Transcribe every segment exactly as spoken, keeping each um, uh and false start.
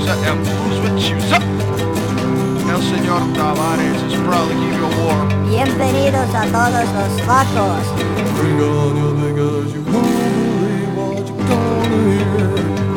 and blues with shoes up. El señor Tavares is proudly keep you warm. Bienvenidos a todos los facos. Bring on your because you won't believe what you're gonna hear.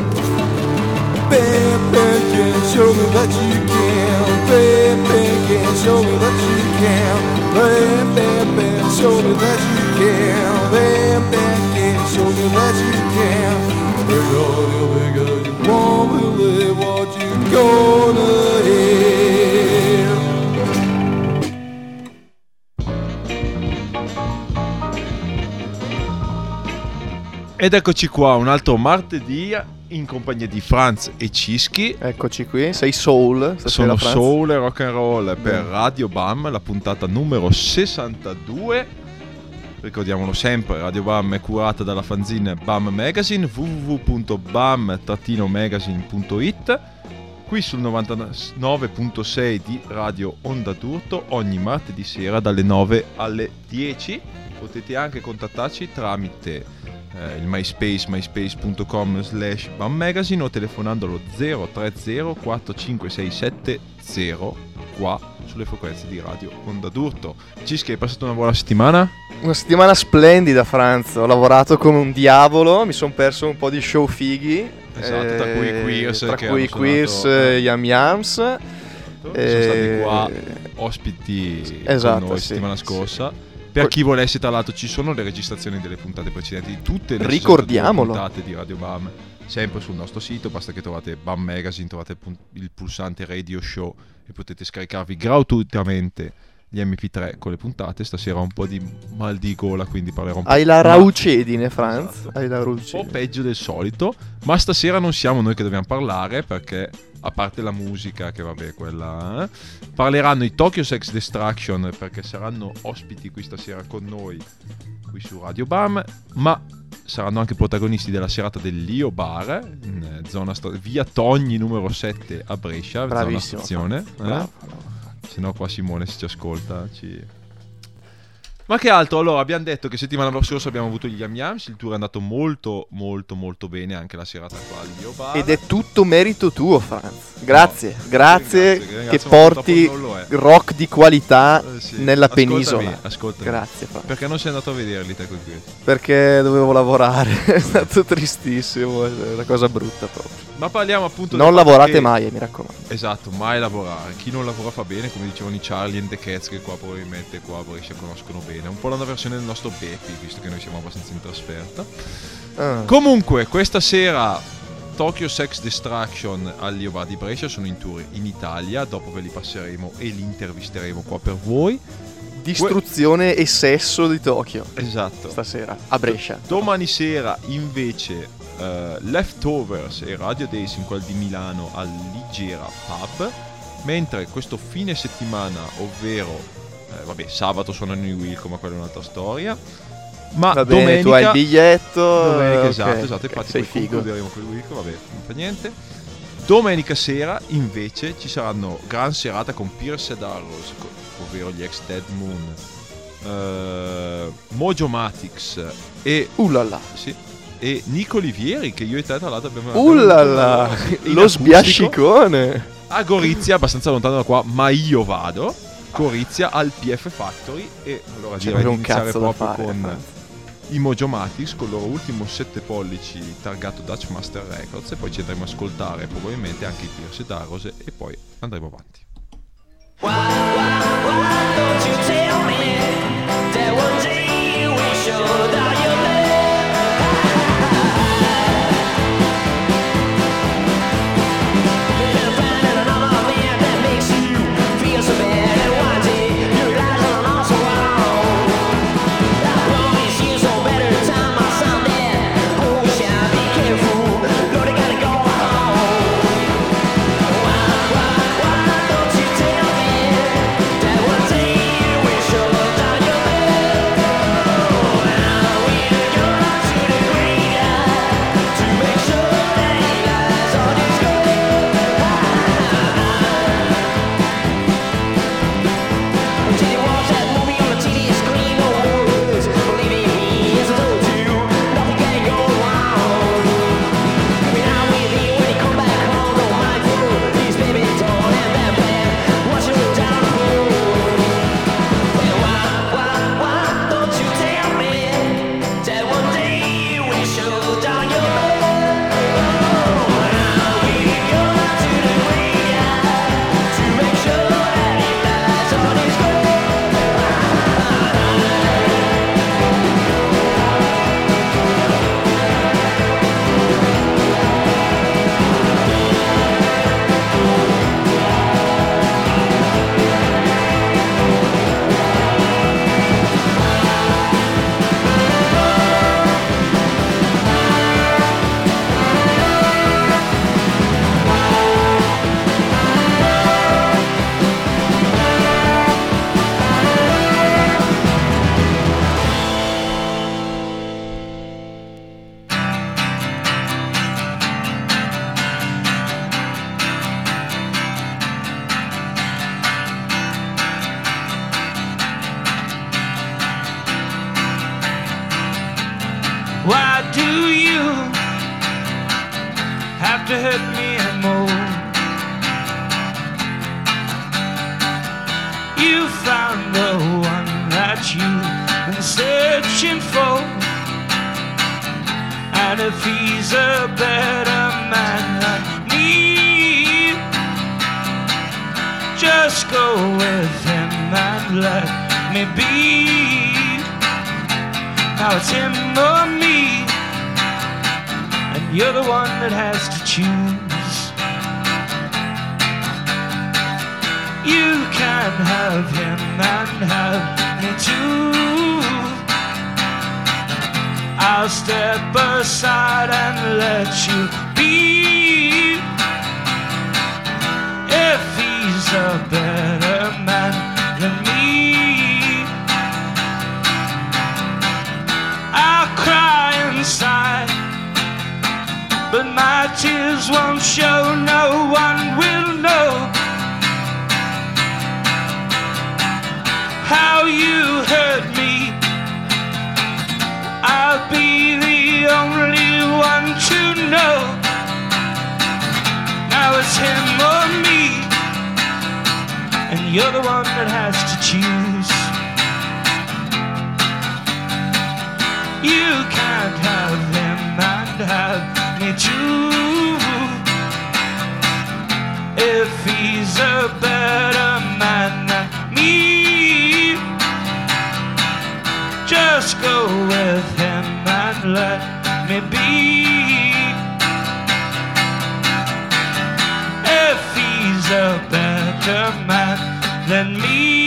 Baby, can show me that you can. Baby, can show me that you can. Baby, show me that you can. Baby, can show me that you can. Bring on your because you won't believe what you're gonna hear. Ed eccoci qua, un altro martedì in compagnia di Franz e Cischi. Eccoci qui, sei soul stasera, Sono Franz. soul e rock and roll per Radio Bam, la puntata numero sessantadue. Ricordiamolo sempre, Radio Bam è curata dalla fanzine Bam Magazine, w w w punto bam magazine punto it. Qui sul novantanove virgola sei di Radio Onda d'Urto, ogni martedì sera dalle nove alle dieci. Potete anche contattarci tramite eh, il MySpace, myspace punto com slash bam magazine o telefonando allo zero tre zero quattro cinque sei sette zero qua sulle frequenze di Radio Onda d'Urto. Cischi, hai passato una buona settimana? Una settimana splendida, Franz. Ho lavorato come un diavolo, mi sono perso un po' di show fighi. Esatto, tra cui i Queers, tra che cui i hanno Queers, suonato, eh, Yam Yams. Sono eh, stati qua ospiti esatto, con noi sì, settimana sì. scorsa. Per chi volesse, tra l'altro, ci sono le registrazioni delle puntate precedenti di tutte le Ricordiamolo. puntate di Radio Bam, sempre sul nostro sito. Basta che trovate Bam Magazine, trovate il, pun- il pulsante Radio Show e potete scaricarvi gratuitamente gli emme pi tre con le puntate. Stasera ho un po' di mal di gola, quindi parlerò un po'. Hai la ma- raucedine, Franz. Esatto. Hai la un po' raucedine. peggio del solito, ma stasera non siamo noi che dobbiamo parlare, perché a parte la musica, che vabbè, quella eh, parleranno i Tokyo Sex Destruction, perché saranno ospiti qui stasera con noi qui su Radio Bam, ma saranno anche protagonisti della serata dell'Io Bar in eh, zona sta- via Togni numero sette a Brescia, zona Bravissimo, stazione, eh? Bravo, bravo. Se no qua Simone, se ci ascolta, ci... Ma che altro? Allora, abbiamo detto che settimana scorsa abbiamo avuto gli Yam Yams, il tour è andato molto molto molto bene, anche la serata qua all'Io Bar. Ed è tutto merito tuo, Franz. Grazie, No, grazie ringrazio, ringrazio, che ma porti purtroppo non lo è. rock di qualità Eh, sì. nella Ascoltami, penisola. ascoltami. Grazie, Franz. Perché non sei andato a vederli te con questo? Perché dovevo lavorare, è stato tristissimo, è una cosa brutta proprio. Ma parliamo appunto Non del fatto lavorate che- mai, mi raccomando. Esatto, mai lavorare. Chi non lavora fa bene, come dicevano i Charlie and the Cats, che qua probabilmente qua a Brescia conoscono bene. Un po' la versione del nostro Beppi, visto che noi siamo abbastanza in trasferta. Ah. Comunque, questa sera Tokyo Sex Destruction all'Io Bar di Brescia sono in tour in Italia. Dopo ve li passeremo e li intervisteremo qua per voi. Distruzione e sesso di Tokyo Esatto. stasera a Brescia. Domani sera invece uh, Leftovers e Radio Days in quel di Milano al Ligera Pub. Mentre questo fine settimana, ovvero eh, vabbè, sabato suonano i Wilco, ma quella è un'altra storia. Ma Va bene, domenica tu hai il biglietto. Domenica, eh, esatto, ok, esatto, ok, infatti sei poi figo. concluderemo con il Wilco, vabbè, non fa niente. Domenica sera invece ci saranno gran serata con Pierce Darrows, co- ovvero gli ex Dead Moon, uh, Mojo Matix e Uh là là. sì, e Nico Olivieri, che io e te tra l'altro abbiamo Uh là abbiamo là. avuto, sì, in Lo acustico sbiascicone. a Gorizia, abbastanza lontano da qua, ma io vado. Gorizia al P F Factory. E allora C'è direi di un iniziare cazzo da proprio fare, con Franz. i Mojo Matix con il loro ultimo sette pollici targato Dutch Master Records, e poi ci andremo a ascoltare probabilmente anche i Pierce Darrows e poi andremo avanti. Why, why, why don't you tell me that one day you will show that you live? You're finding another man that makes you feel so bad, and one day you realize I'm not so wrong. I promise you some better time, my son, there. Oh, shall be careful, Lord, I gotta go home. Why, why, why don't to hurt me more. You found the one that you've been searching for, and if he's a better man than me, just go with him and let me be. Now it's him or me, and you're the one that has to choose. You can have him and have me too. I'll step aside and let you be. If he's a better man than me, I'll cry inside, but my tears won't show. No one will know how you hurt me. I'll be the only one to know. Now it's him or me, and you're the one that has to choose. You can't have him and have me too. If he's a better man than me, just go with him and let me be. If he's a better man than me.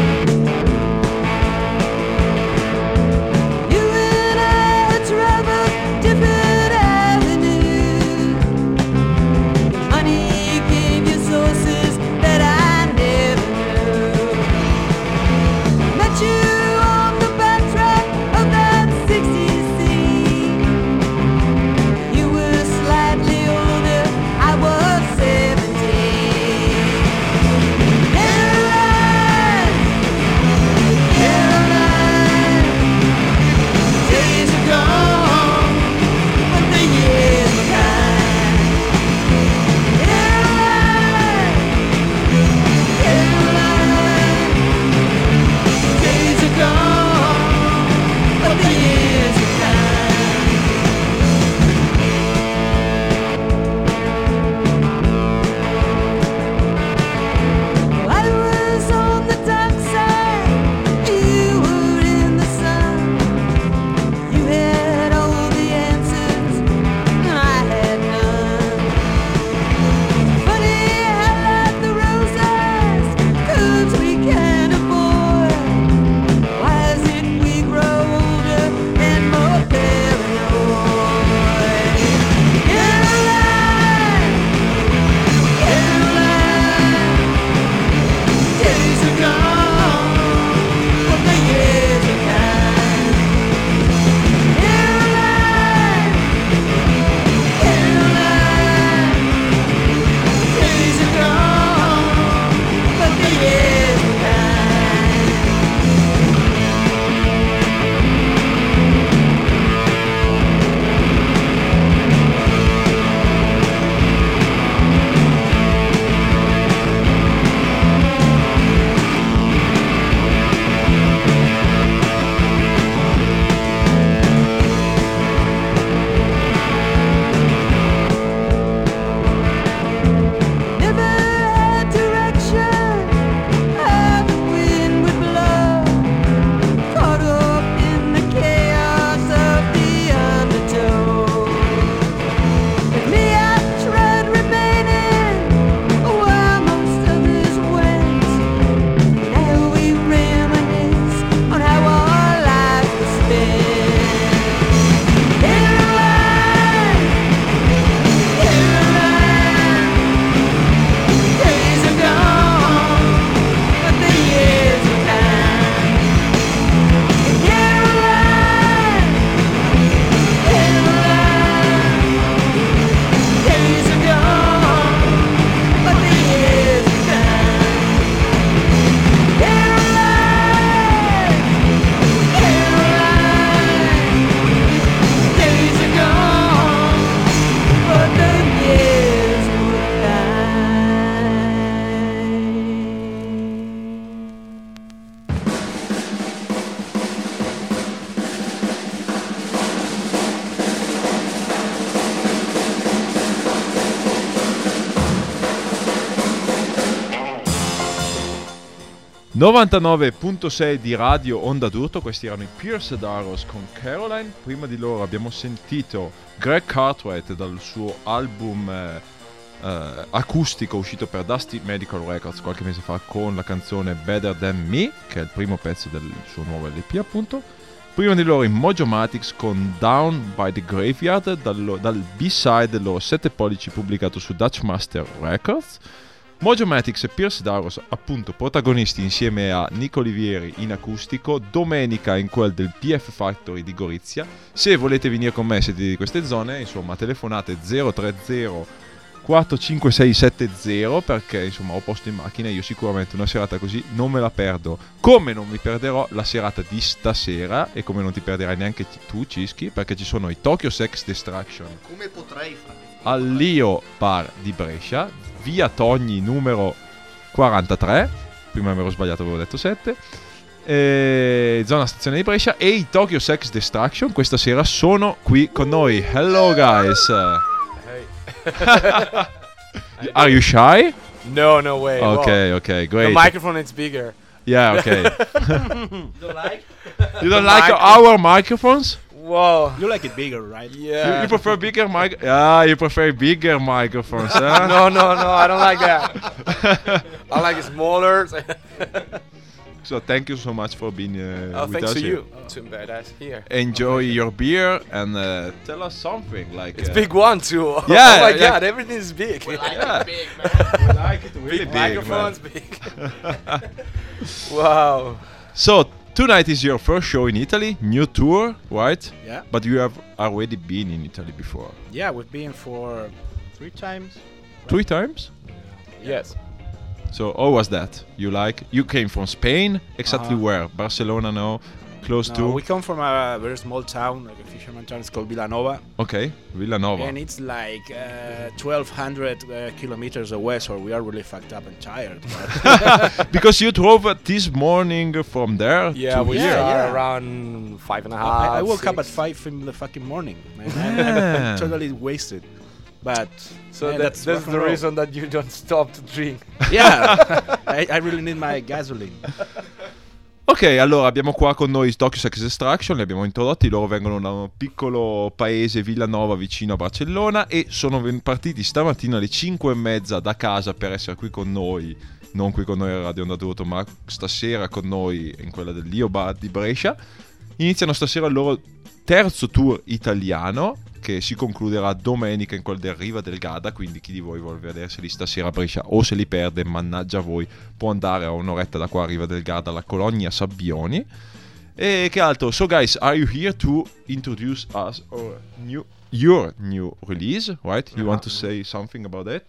You and I, it's rather novantanove virgola sei di Radio Onda d'Urto. Questi erano i Pierce Darrows con Caroline. Prima di loro abbiamo sentito Greg Cartwright dal suo album eh, eh, acustico uscito per Dusty Medical Records qualche mese fa con la canzone Better Than Me, che è il primo pezzo del suo nuovo L P appunto. Prima di loro i Mojomatics con Down by the Graveyard dal, dal B-side del loro sette pollici pubblicato su Dutch Master Records. Mojomatics e Pierce Darrows appunto protagonisti insieme a Nico Olivieri in acustico, domenica in quel del P F Factory di Gorizia. Se volete venire con me, siete di queste zone, insomma telefonate zero tre zero quattro cinque sei sette zero, perché insomma ho posto in macchina. Io sicuramente una serata così non me la perdo, come non mi perderò la serata di stasera e come non ti perderai neanche tu, Cischi, perché ci sono i Tokyo Sex Destruction Come potrei fare? all'Io Bar di Brescia, via Togni numero quarantatré, prima mi ero sbagliato, avevo detto sette, e zona stazione di Brescia. E i Tokyo Sex Destruction questa sera sono qui con noi. Hello guys. Are you shy? No, no way. Okay, Whoa. okay, great. The microphone is bigger. Yeah, okay. You don't like? You don't The like mic- our microphones? Whoa. You like it bigger, right? Yeah. You, you prefer bigger mic? Yeah, you prefer bigger microphones, huh? No, no, no. I don't like that. I like it smaller. So thank you so much for being uh, Oh, with thanks us to here. you. Too badass here. Enjoy your beer and uh, tell us something like. It's uh, big one too. Yeah, Oh my yeah. god, everything is big. Yeah. Big, man. We like it really Big big, man. microphones, big. Wow. So tonight is your first show in Italy, new tour, right? Yeah. But you have already been in Italy before. Yeah, we've been for three times. Three times? Yes. So how was that? You like? You came from Spain? Exactly Uh-huh. where? Barcelona, no? Close No, to? we come from a very small town, like a fisherman town. It's called Villanova, Okay, Villanova. and it's like uh, twelve hundred uh, kilometers away. So we are really fucked up and tired. but- Because you drove uh, this morning from there Yeah, to we here. Yeah, are yeah. around five and a half. I, I woke up at six. five in the fucking morning. Man. I'm, I'm totally wasted. But So yeah, that, that's that's rock and the roll. reason that you don't stop to drink. Yeah, I, I really need my gasoline. Ok, allora abbiamo qua con noi Tokyo Sex Destruction, li abbiamo introdotti, loro vengono da un piccolo paese, Villanova, vicino a Barcellona, e sono ven- partiti stamattina alle cinque e mezza da casa per essere qui con noi, non qui con noi a Radio Onda d'Urto, ma stasera con noi in quella dell'Io Bar di Brescia. Iniziano stasera il loro terzo tour italiano, che si concluderà domenica in quel del Riva del Garda, quindi chi di voi vuole vederseli stasera a Brescia o se li perde, mannaggia voi, può andare a un'oretta da qua a Riva del Garda alla Colonia Sabbioni. E che altro? So guys, are you here to introduce us our new, your new release, right? You want to say something about that?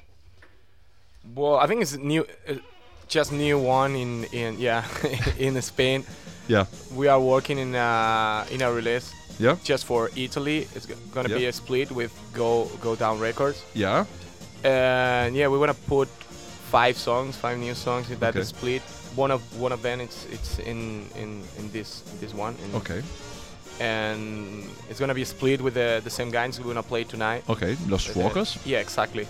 Well, I think it's new, uh, just new one in in yeah in Spain. Yeah. We are working in a in a release Yeah? just for Italy. It's g- gonna be Yeah. a split with Go Go Down Records, Yeah? and yeah, we wanna put five songs, five new songs in that Okay. split. One of one of them it's it's in in in this this one. in- Ok, And it's gonna be split with the the same guys we're gonna play tonight. ok, Los Uh, Fuocos. Yeah, exactly.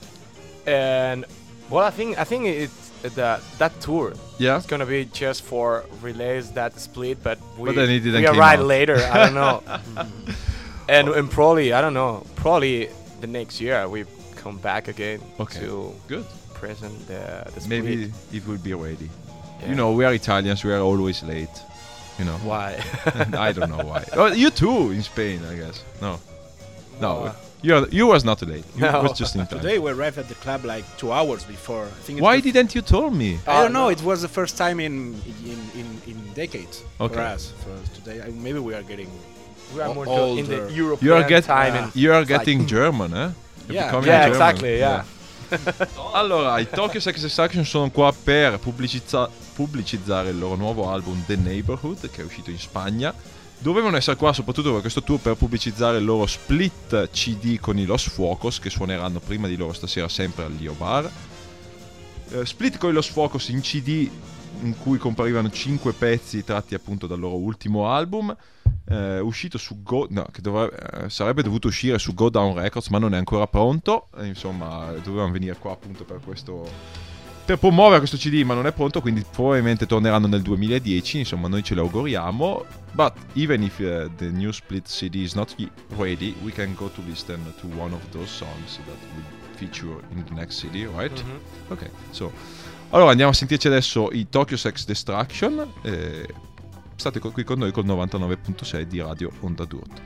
And well, I think I think it's uh, the that tour. Yeah? It's gonna be just for release that split, but we But then it didn't we came arrive out. later. I don't know. and and probably I don't know. Probably the next year we come back again Okay. to Good. present the the split. Maybe it will be ready. Yeah. You know, we are Italians, we are always late. You know. Why? I don't know why. Oh, you too in Spain, I guess. No, no, Well, you are, you was not late. You No. was just in time. Today we arrived at the club like two hours before. I think. It's Why the- didn't you tell me? I Uh, don't know. no. It was the first time in in in, in decades for Okay. us. For today, I, maybe we are getting. we are o- more to- in the older. European You are get, time. Yeah. and you are Like- getting German, eh? You're Yeah. becoming yeah, German. exactly. Yeah. Allora, i Tokyo Sex Destruction sono qua per pubblicizza- pubblicizzare il loro nuovo album The Neighborhood, che è uscito in Spagna. Dovevano essere qua soprattutto per questo tour per pubblicizzare il loro split C D con i Los Fuocos, che suoneranno prima di loro stasera sempre all'Io Bar. Eh, split con i Los Fuocos in C D in cui comparivano cinque pezzi tratti appunto dal loro ultimo album, eh, uscito su Go, no, che dovrebbe, eh, sarebbe dovuto uscire su Go Down Records, ma non è ancora pronto. E, insomma, dovevano venire qua appunto per questo per promuovere questo C D, ma non è pronto, quindi probabilmente torneranno nel duemiladieci, insomma noi ce lo auguriamo. But even if uh, the new split C D is not y- ready, we can go to listen to one of those songs that will feature in the next C D, right? Mhm. Ok, so allora andiamo a sentirci adesso i Tokyo Sex Destruction. Eh, state co- qui con noi col novantanove virgola sei di Radio Onda d'Urto.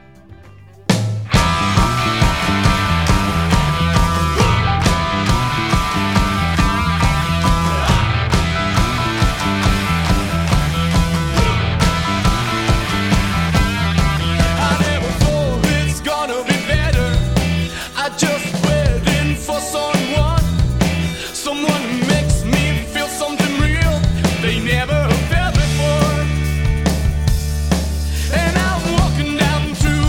I never thought it's gonna be better. I just waiting for someone, someone who makes me feel something real they never felt before. And I'm walking down through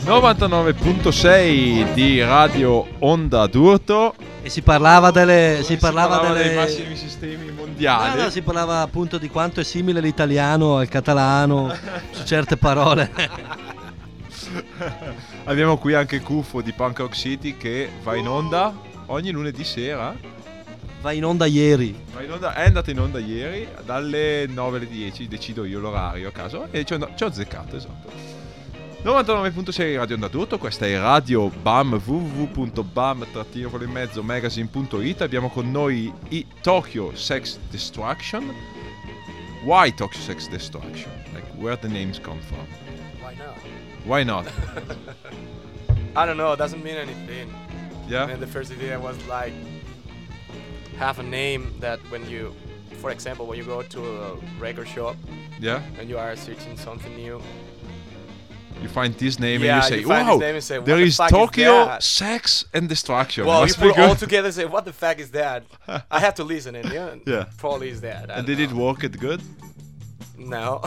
novantanove virgola sei di Radio Onda d'Urto. E si parlava delle. Si Si parlava, parlava delle. dei massimi sistemi mondiali. No, no, si parlava appunto di quanto è simile l'italiano al catalano su certe parole. Abbiamo qui anche Cuffo di Punk Rock City che va in onda ogni lunedì sera. Va in onda ieri. Va in onda, è andata in onda ieri dalle nove alle dieci, decido io l'orario a caso e ci ho, ci ho azzeccato, esatto. novantanove virgola sei Radio Onda d'Urto, questa è Radio B A M, w w w punto bam trattino con in mezzo magazine punto it. Abbiamo con noi i Tokyo Sex Destruction. Why Tokyo Sex Destruction? Like where the names come from? Why not? Why not? I don't know. It doesn't mean anything. Yeah? And the first idea was like have a name that when you, for example, when you go to a record shop Yeah? and you are searching something new, You find this name Yeah, and you say, you find wow, this name and say, what there the is fuck is Tokyo that?" Sex and Destruction. well, you Must be put all good. together and say, what the fuck is that? I have to listen and yeah, Yeah. probably is that. I And don't did it know. work it good? No.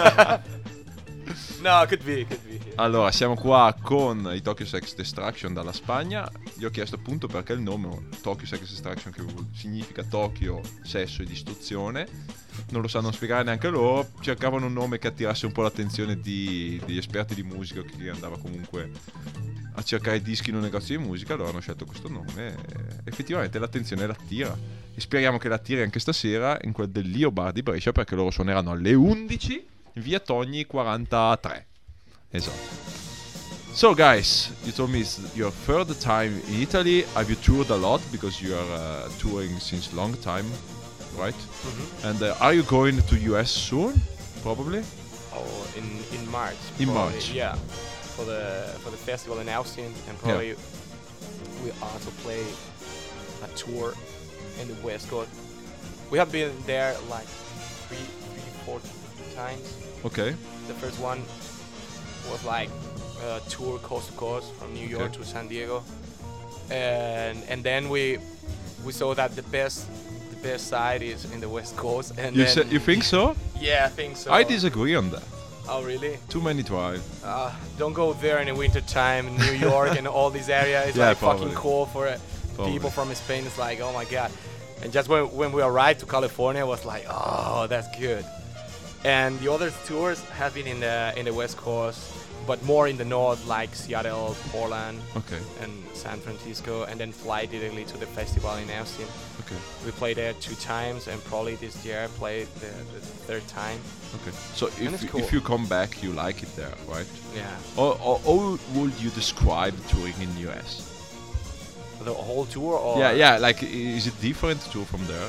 No, it could be, it could be. yeah. Allora, siamo qua con i Tokyo Sex Destruction dalla Spagna. Gli ho chiesto appunto perché il nome Tokyo Sex Destruction, che vuol- significa Tokyo, sesso e distruzione. Non lo sanno spiegare neanche loro. Cercavano un nome che attirasse un po' l'attenzione di- degli esperti di musica, chi andava comunque a cercare dischi in un negozio di musica. Allora hanno scelto questo nome e effettivamente l'attenzione l'attira. E speriamo che l'attiri anche stasera in quel del Lio Bar di Brescia, perché loro suoneranno alle undici in via Togni quarantatré. Esatto. So guys, you told me it's your third time in Italy. Have you toured a lot because you are uh, touring since long time, right? Mhm. And uh, are you going to U S soon? Probably. Oh, in in March. In probably, March. Yeah, for the for the festival in Austin, and probably we also play a tour in the West Coast. We have been there like three, three, four times. Okay. The first one was like a tour coast to coast from New York Okay. to San Diego, and and then we we saw that the best the best side is in the West Coast. And You then, sa- you think so? Yeah, I think so. I disagree on that. Oh really? Too many drive. Uh, don't go there in the winter time in New York and all these areas. It's Yeah, like probably. fucking cold for uh, Probably. people from Spain. It's like, oh my god. And just when, when we arrived to California, it was like, oh, that's good. And the other tours have been in the in the West Coast, but more in the north, like Seattle, Portland, Okay. and San Francisco, and then fly directly to the festival in Austin. Okay. We played there two times, and probably this year played the, the third time. Okay. So And if it's you- cool. if you come back, you like it there, right? Yeah. Or, or, or would you describe touring in U S? The whole tour, or Yeah, yeah. Like, i- is it different to tour from there?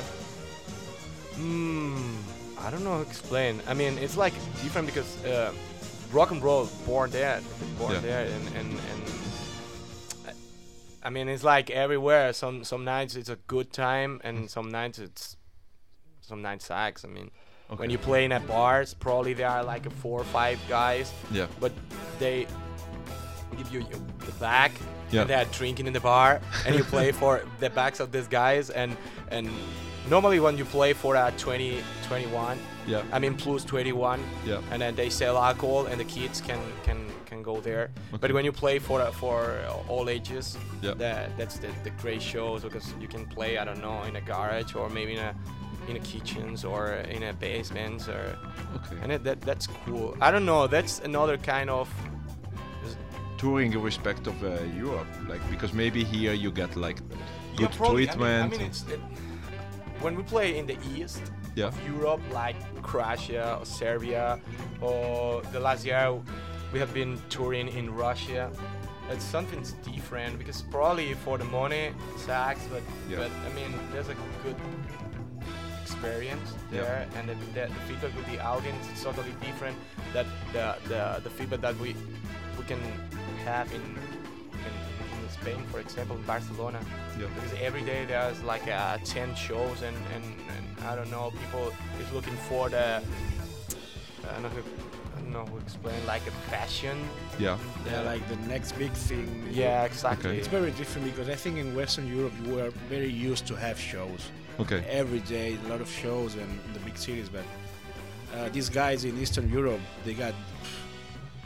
Hmm, I don't know how to explain. I mean, it's like different because uh, rock and roll born there, born Yeah. there, and and and. I- I mean, it's like everywhere. Some some nights it's a good time, and some nights it's some nights sucks. I mean, when Okay. you play in at bars, probably there are like a four or five guys, Yeah. but they give you you- the back, Yeah. and they're drinking in the bar, and you play for the backs of these guys, and and normally when you play for a twenty, twenty-one, Yeah. I mean plus twenty-one, Yeah. and then they sell alcohol, and the kids can can can go there. Okay. But when you play for uh, for uh, all ages, Yeah. that that's the the great shows because you can play, I don't know, in a garage or maybe in a in a kitchens or in a basements or Okay. and it, that that's cool. I don't know. That's another kind of Touring in respect of uh, Europe, like because maybe here you get like Yeah, good probably. treatment. I mean, I mean it's it, when we play in the east Yeah. of Europe, like Croatia or Serbia, or the last year we have been touring in Russia. It's something different because probably for the money sucks, but Yeah. but I mean there's a good experience Yeah. there, and the, the, the feedback with the audience is totally different. That the the, the feedback that we we can have in in, in Spain, for example, in Barcelona. Yeah. Because every day there's like uh, ten shows, and, and, and I don't know, people is looking for the I don't know, who, I don't know how to explain, like a fashion. Yeah. Yeah, like the next big thing. Yeah, exactly. Okay. It's very different because I think in Western Europe we are very used to have shows. Okay. Every day, a lot of shows and in the big cities. But uh, these guys in Eastern Europe, they got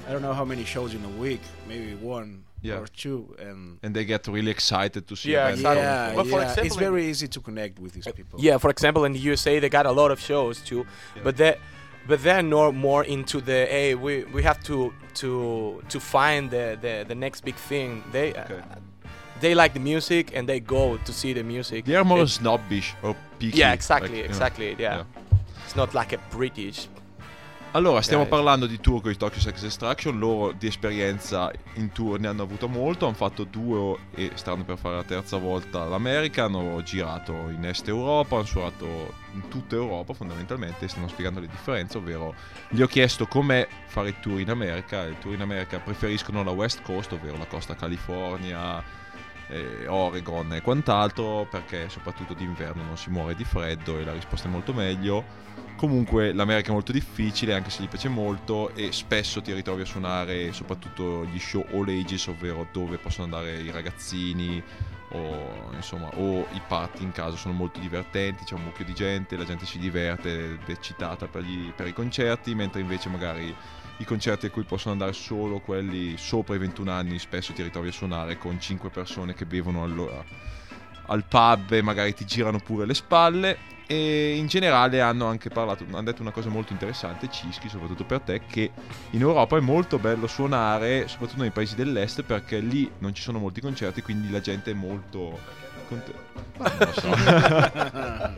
I don't know how many shows in a week, maybe one Yeah. or two, and And they get really excited to see Yeah, events. exactly. yeah, But for yeah, example, it's very easy to connect with these people. Yeah, for example, in the U S A, they got a lot of shows too, but they but they're no more into the hey, we we have to to to find the the, the next big thing. They uh, Okay. they like the music and they go to see the music. They are more It- snobbish or picky. yeah, exactly, like, you know. exactly. Yeah. It's not like a British. Allora, stiamo Yeah. parlando di tour con i Tokyo Sex Destruction. Loro di esperienza in tour ne hanno avuto molto. Hanno fatto due e stanno per fare la terza volta l'America. Hanno girato in Est Europa, hanno suonato in tutta Europa fondamentalmente. E stanno spiegando le differenze, ovvero gli ho chiesto com'è fare i tour in America. I tour in America preferiscono la West Coast, ovvero la costa California, eh, Oregon e quant'altro, perché soprattutto d'inverno non si muore di freddo e la risposta è molto meglio. Comunque l'America è molto difficile, anche se gli piace molto, e spesso ti ritrovi a suonare soprattutto gli show all ages, ovvero dove possono andare i ragazzini o insomma o i party in caso. Sono molto divertenti, c'è un mucchio di gente, la gente si diverte, è eccitata per, gli, per i concerti, mentre invece magari i concerti a cui possono andare solo quelli sopra i ventuno anni, spesso ti ritrovi a suonare con cinque persone che bevono allora al pub e magari ti girano pure le spalle. E in generale hanno anche parlato, hanno detto una cosa molto interessante, Cischi, soprattutto per te, che in Europa è molto bello suonare, soprattutto nei paesi dell'est, perché lì non ci sono molti concerti, quindi la gente è molto conte- Ma non lo so.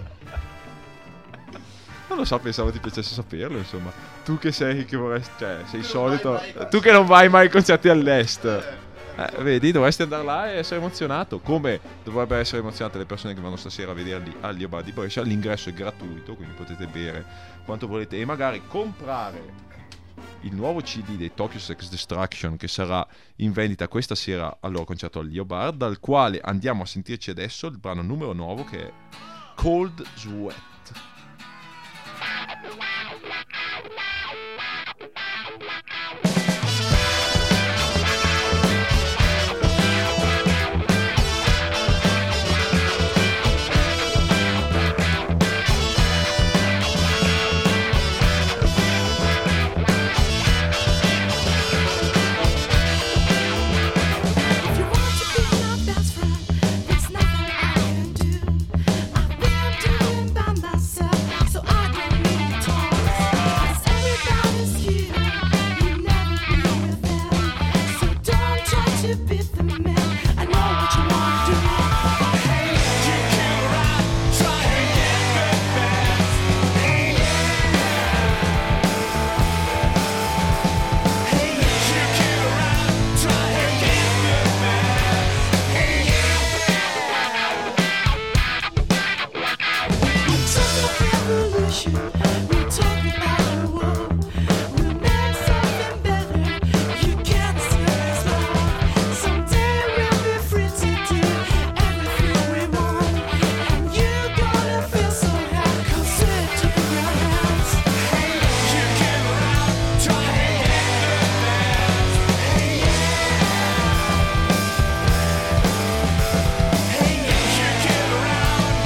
Non lo so, pensavo ti piacesse saperlo, insomma. Tu che sei, che vorresti, cioè, sei solito, tu che non vai mai ai concerti all'est. Eh, vedi, dovresti andare là e essere emozionato, come dovrebbero essere emozionate le persone che vanno stasera a vederli all'Io Bar di Brescia. L'ingresso è gratuito, quindi potete bere quanto volete e magari comprare il nuovo C D dei Tokyo Sex Destruction, che sarà in vendita questa sera al loro concerto all'Io Bar, dal quale andiamo a sentirci adesso il brano numero nove, che è Cold Sweat.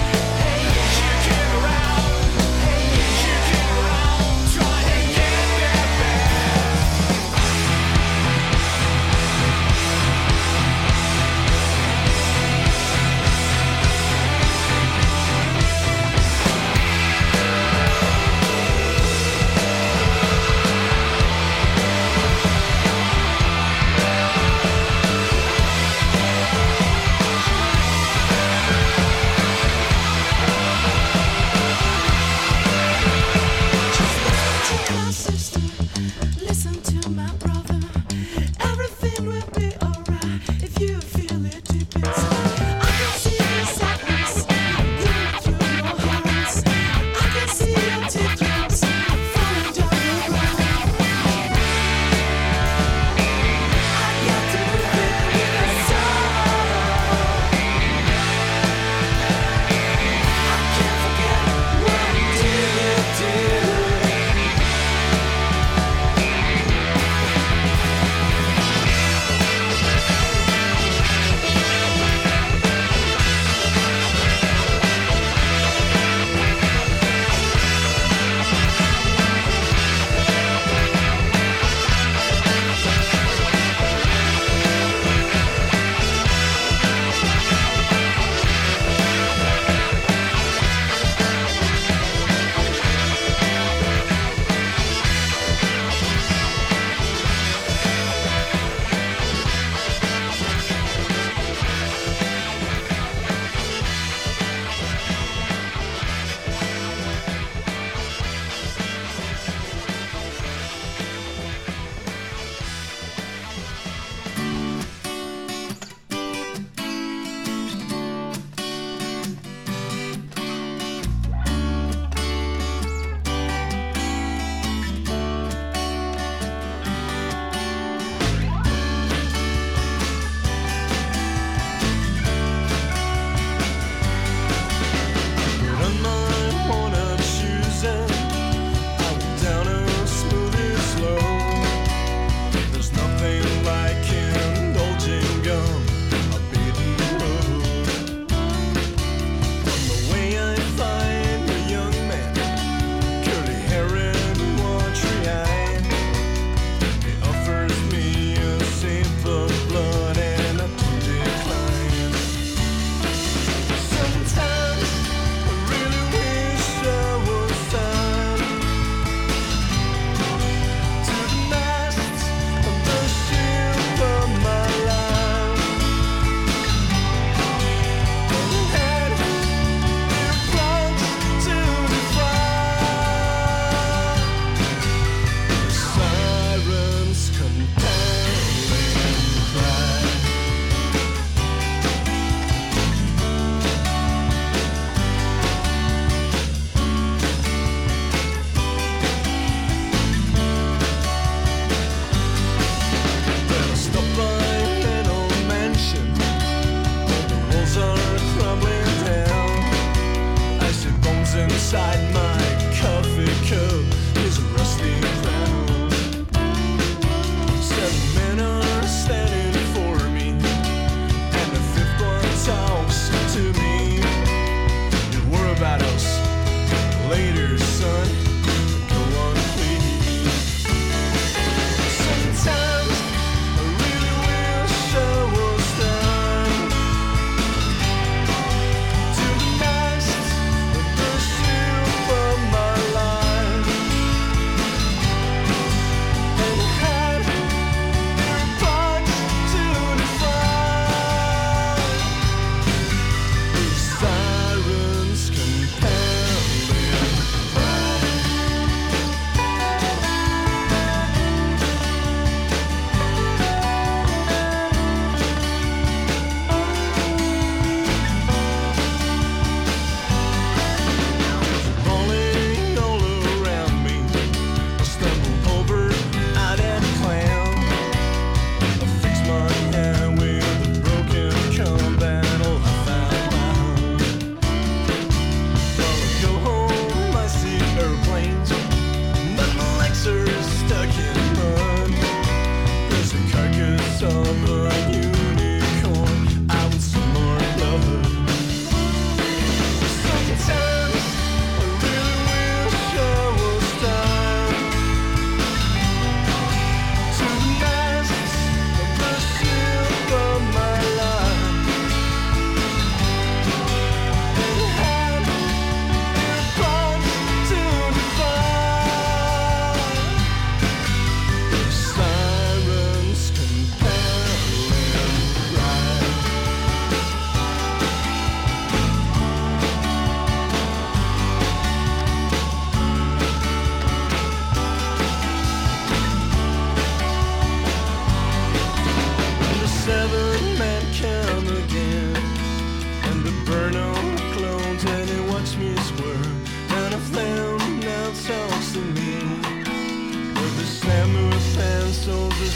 Hey,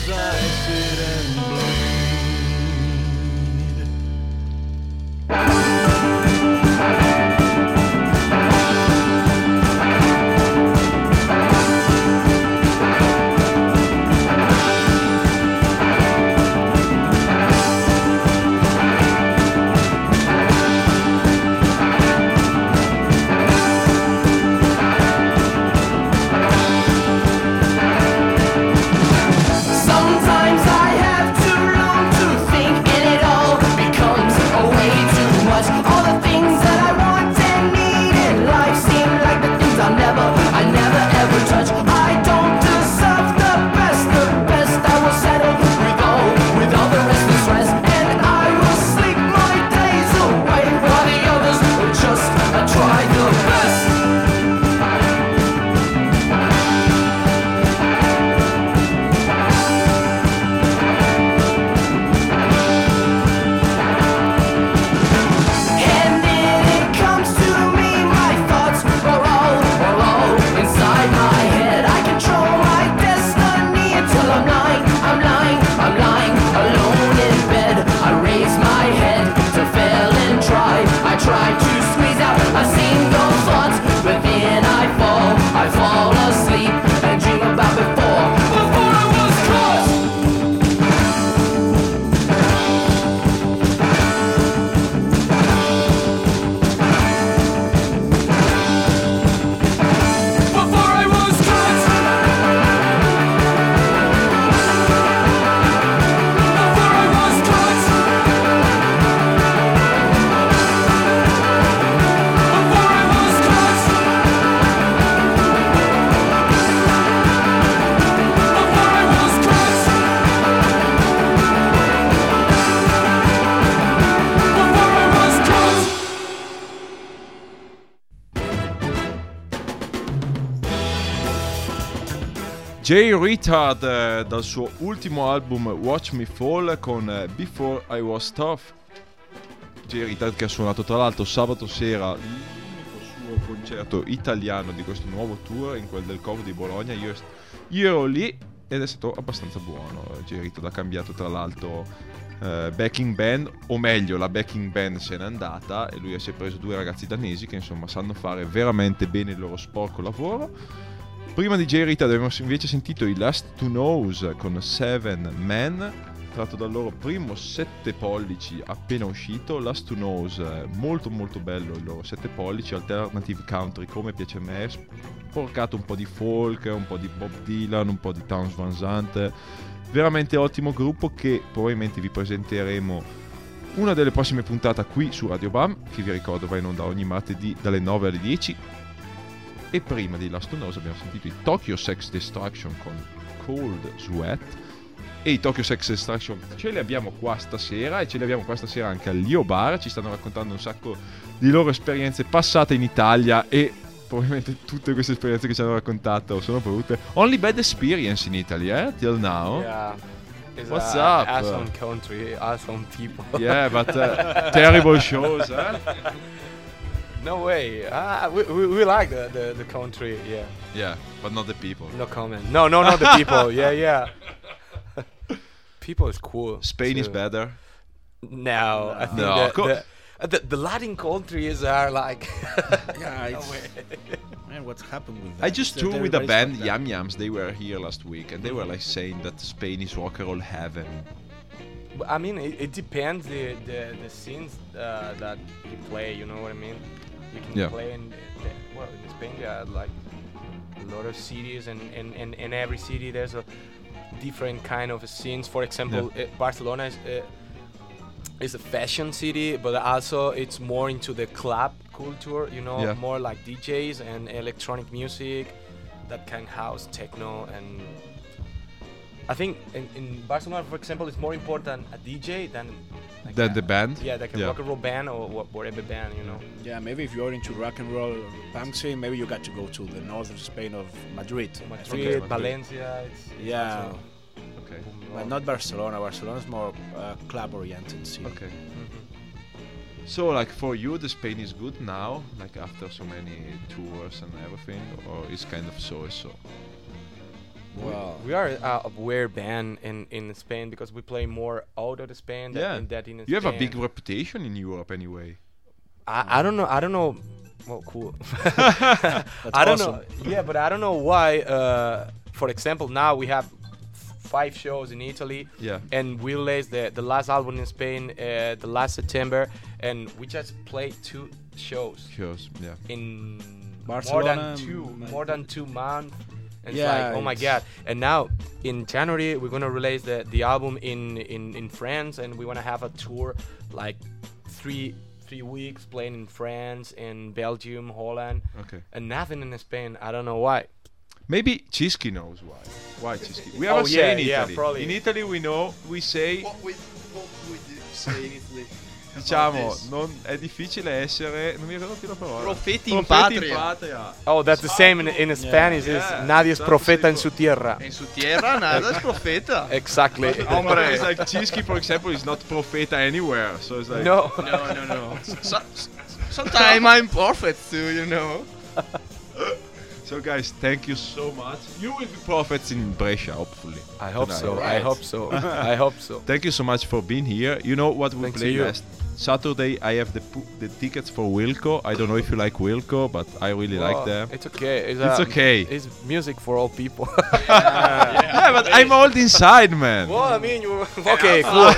as I sit and bleed. Sometimes I have too long to think, and it all becomes a way too much. All the things that I want and need in life seem like the things I'll never, I never ever touch. I don't deserve the best, the best. I will settle with all, with all the rest and stress, and I will sleep my days away while the others will just uh, try the best. And then it comes to me, my thoughts are all, are all inside my head. I control my destiny until I'm lying, I'm lying, I'm lying alone in bed. I raise my head to fail and try. I try to squeeze out a single thought, but then I fall, I fall asleep and dream about before, before I was caught. Before I was caught. Before I was caught. Before I was caught. Before I was caught. Before I was caught. Jay Retard eh, dal suo ultimo album Watch Me Fall con eh, Before I Was Tough. Jay Retard che ha suonato tra l'altro sabato sera l'unico suo concerto italiano di questo nuovo tour, in quel del Covo di Bologna. Io, io ero lì ed è stato abbastanza buono. Jay Retard ha cambiato tra l'altro eh, backing band, o meglio la backing band se n'è andata e lui si è preso due ragazzi danesi che insomma sanno fare veramente bene il loro sporco lavoro. Prima di Jay Retard abbiamo invece sentito i Last to Knows con Seven Men, tratto dal loro primo sette pollici appena uscito. Last to Knows, eh, molto molto bello il loro sette pollici, alternative country come piace a me, sporcato un po' di folk, un po' di Bob Dylan, un po' di Townes Van Zandt. Veramente ottimo gruppo che probabilmente vi presenteremo una delle prossime puntate qui su Radio Bam, che vi ricordo va in onda ogni martedì dalle nove alle dieci. E prima di Last to Knows abbiamo sentito i Tokyo Sex Destruction con Cold Sweat. E i Tokyo Sex Destruction ce li abbiamo qua stasera, e ce li abbiamo qua stasera anche al Lio Bar. Ci stanno raccontando un sacco di loro esperienze passate in Italia, e probabilmente tutte queste esperienze che ci hanno raccontato sono provute. Only bad experience in Italy, eh? Till now. Yeah. It's What's a up? Awesome country, awesome people. Yeah, but uh, terrible shows, eh? No way. Ah, we, we, we like the, the, the country, yeah. Yeah, but not the people. No comment. No, no, not the people. Yeah, yeah. People is cool. Spain is too. better. No, I think No, that co- the, uh, the the Latin countries are like. Yeah, no it's, way. man, what's happened with that? I just It's that toured with a everybody's band, fucked up. Yam Yams. They were here last week, and they were like saying that Spain is rock and roll heaven. But, I mean, it, it depends the the, the scenes uh, that you play. You know what I mean? You can Yeah. play in the, well in Spain. There are like a lot of cities, and in and, in every city there's a different kind of scenes. For example, uh, Barcelona is uh, is a fashion city, but also it's more into the club culture. You know, Yeah. more like D Js and electronic music, that kind of house, techno, and I think in, in Barcelona, for example, it's more important a D J than like Than a- the band? Yeah, like a Yeah. rock and roll band or wha- whatever band, you know. Yeah, maybe if you're into rock and roll or punk scene, maybe you got to go to the north of Spain of Madrid. Madrid, Okay. Valencia. It's, it's Yeah, also Okay. boom but rock. not Barcelona. Barcelona's more uh, club-oriented scene. Okay. Mhm. So, like for you, the Spain is good now, like after so many tours and everything, or it's kind of so-so? Wow. We are uh, a weird band in, in Spain because we play more out of Spain than Yeah. in that in You Spain. have a big reputation in Europe anyway. I, I don't know. I don't know. Well, cool. I don't awesome. know. Yeah, but I don't know why. Uh, for example, now we have f- five shows in Italy. Yeah. And we released the the last album in Spain uh, the last September, and we just played two shows Shows, yeah. in Barcelona, more than two maybe. more than two months. And Yeah, it's like, oh my it's- god! And now in January we're gonna release the the album in in in France, and we wanna have a tour like three. Three weeks playing in France, in Belgium, Holland, Okay. and nothing in Spain. I don't know why. Maybe Cischi knows why. Why Cischi? We Oh, have a yeah, say in yeah, Italy. probably. In Italy we know, we say, What would, what would you say in Italy? diciamo, this? non, è difficile essere, non mi ricordo più la parola. Profeti in Profeti patria. in patria. Oh, that's the same in, in Spanish. Yeah, Is nadie es that's profeta the en su tierra. En su tierra nada es profeta. Exactly. Hombre, it's like Cischi, for example, is not profeta anywhere. So it's like, No. No, no, no. So, sometimes I'm prophet too, you know. So guys, thank you so much. You will be prophets in Brescia, hopefully. I hope tonight. so. I Right. hope so. I hope so. Thank you so much for being here. You know what we Thanks to play you. last Saturday? I have the pu- the tickets for Wilco. I don't know if you like Wilco, but I really like Well, them. It's okay. It's, It's uh, okay. It's music for all people. Yeah, but I'm old inside, man. Well, I mean, you. Okay, cool.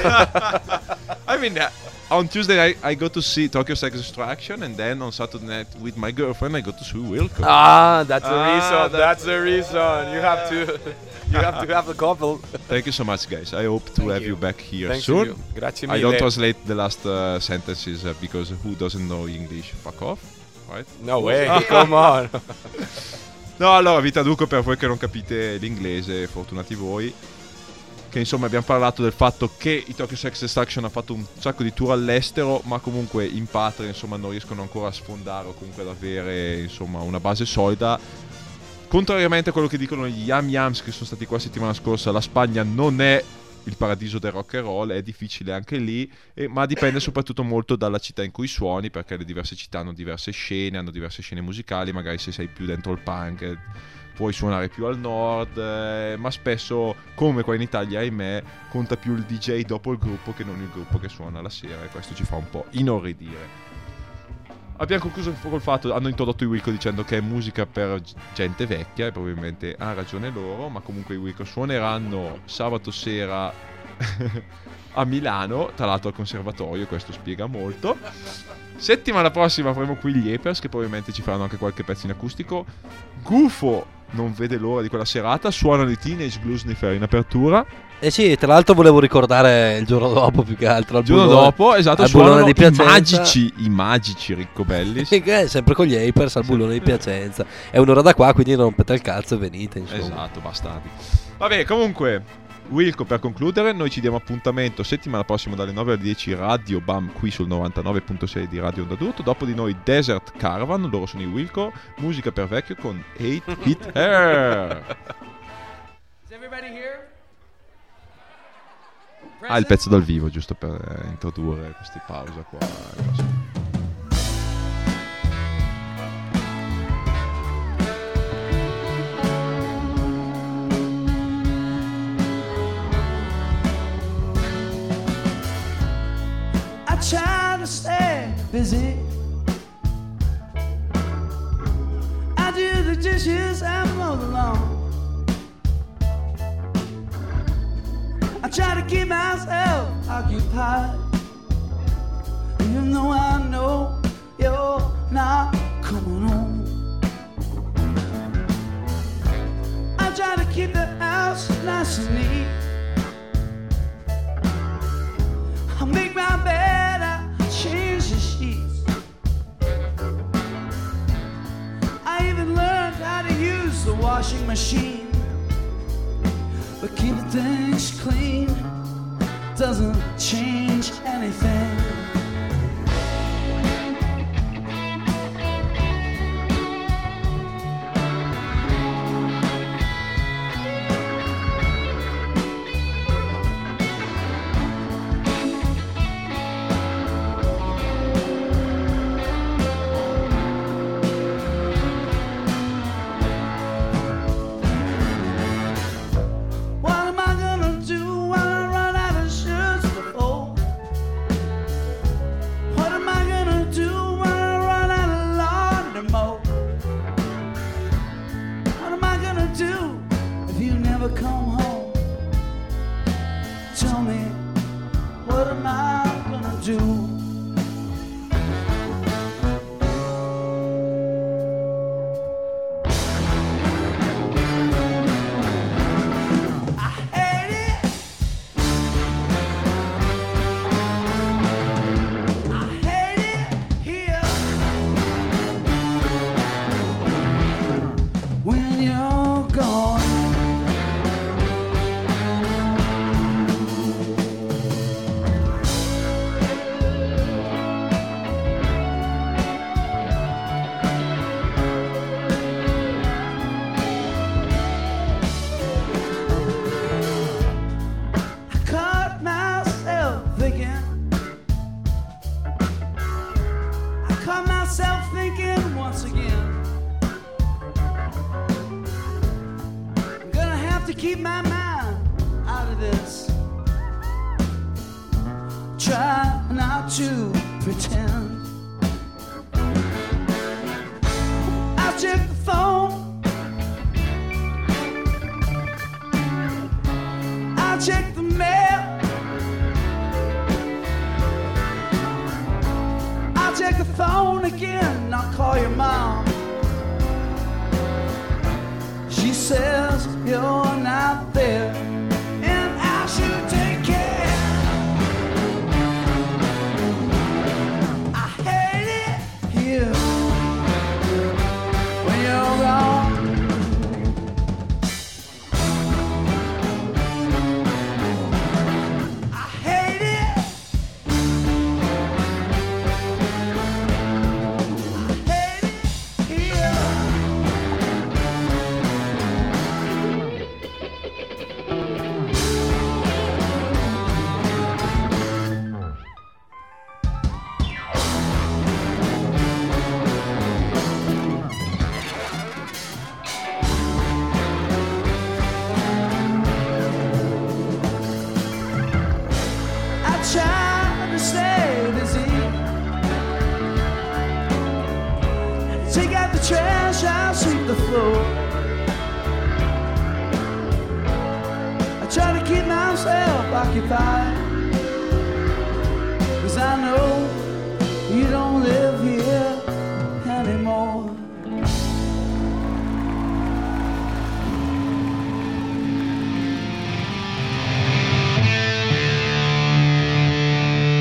I mean, uh, on Tuesday I, I go to see Tokyo Sex Extraction, and then on Saturday night with my girlfriend I go to see Wilco. Ah, that's the Ah, reason. that's- That's the reason. You have to. You have to have a couple. Thank you so much, guys. I hope to Thank have you. you back here Thanks soon. to you. Grazie I mille. don't translate the last uh, sentences uh, because who doesn't know English? Fuck off, right? No way. Come on. No, allora vi traduco per voi che non capite l'inglese, fortunati voi. Che insomma abbiamo parlato del fatto che i Tokyo Sex Extraction ha fatto un sacco di tour all'estero, ma comunque in patria insomma non riescono ancora a sfondare o comunque ad avere insomma una base solida. Contrariamente a quello che dicono gli Yam Yams che sono stati qua settimana scorsa, la Spagna non è il paradiso del rock and roll, è difficile anche lì, e, ma dipende soprattutto molto dalla città in cui suoni, perché le diverse città hanno diverse scene, hanno diverse scene musicali, magari se sei più dentro il punk eh, puoi suonare più al nord, eh, ma spesso, come qua in Italia, ahimè, conta più il D J dopo il gruppo che non il gruppo che suona la sera, e questo ci fa un po' inorridire. Abbiamo concluso col fatto, hanno introdotto i Wilco dicendo che è musica per g- gente vecchia, e probabilmente ha ragione loro, ma comunque i Wilco suoneranno sabato sera a Milano, tra l'altro al conservatorio, questo spiega molto. Settimana prossima avremo qui gli Apers, che probabilmente ci faranno anche qualche pezzo in acustico. Gufo non vede l'ora di quella serata, suonano i Teenage Bluesniffer in apertura. Eh sì, tra l'altro volevo ricordare il giorno dopo più che altro. Il giorno bullone- dopo, esatto, al suonano bullone di i Piacenza. magici, i magici Riccobellis. Sì, che è sempre con gli Apers al bullone di Piacenza. È un'ora da qua, quindi rompete il cazzo e venite, insomma. Esatto, bastardi. Vabbè, comunque, Wilco, per concludere, noi ci diamo appuntamento settimana prossima dalle nove alle dieci Radio Bam qui sul novantanove virgola sei di Radio Onda d'Urto. Dopo di noi Desert Caravan, loro sono i Wilco, musica per vecchio con eight Hit Hair. Is everybody here? Ah, il pezzo dal vivo, giusto per eh, introdurre questi pausa qua. I try to stay busy. I do the dishes and mow the lawn. I try to keep myself occupied, even though I know you're not coming home. I try to keep the house nice and neat. I make my bed, I change the sheets. I even learned how to use the washing machine. But keeping things clean doesn't change anything. never come home. Tell me, what am I gonna do? Keep my mind out of this. Try not to pretend. I'll check the phone. I'll check the mail. I'll check the phone again. I'll call your mom. She says you're not there, and I should take care. I hate it here when you're gone. I hate it. I hate it here. Try to stay busy. Take out the trash, I'll sweep the floor. I try to keep myself occupied, 'cause I know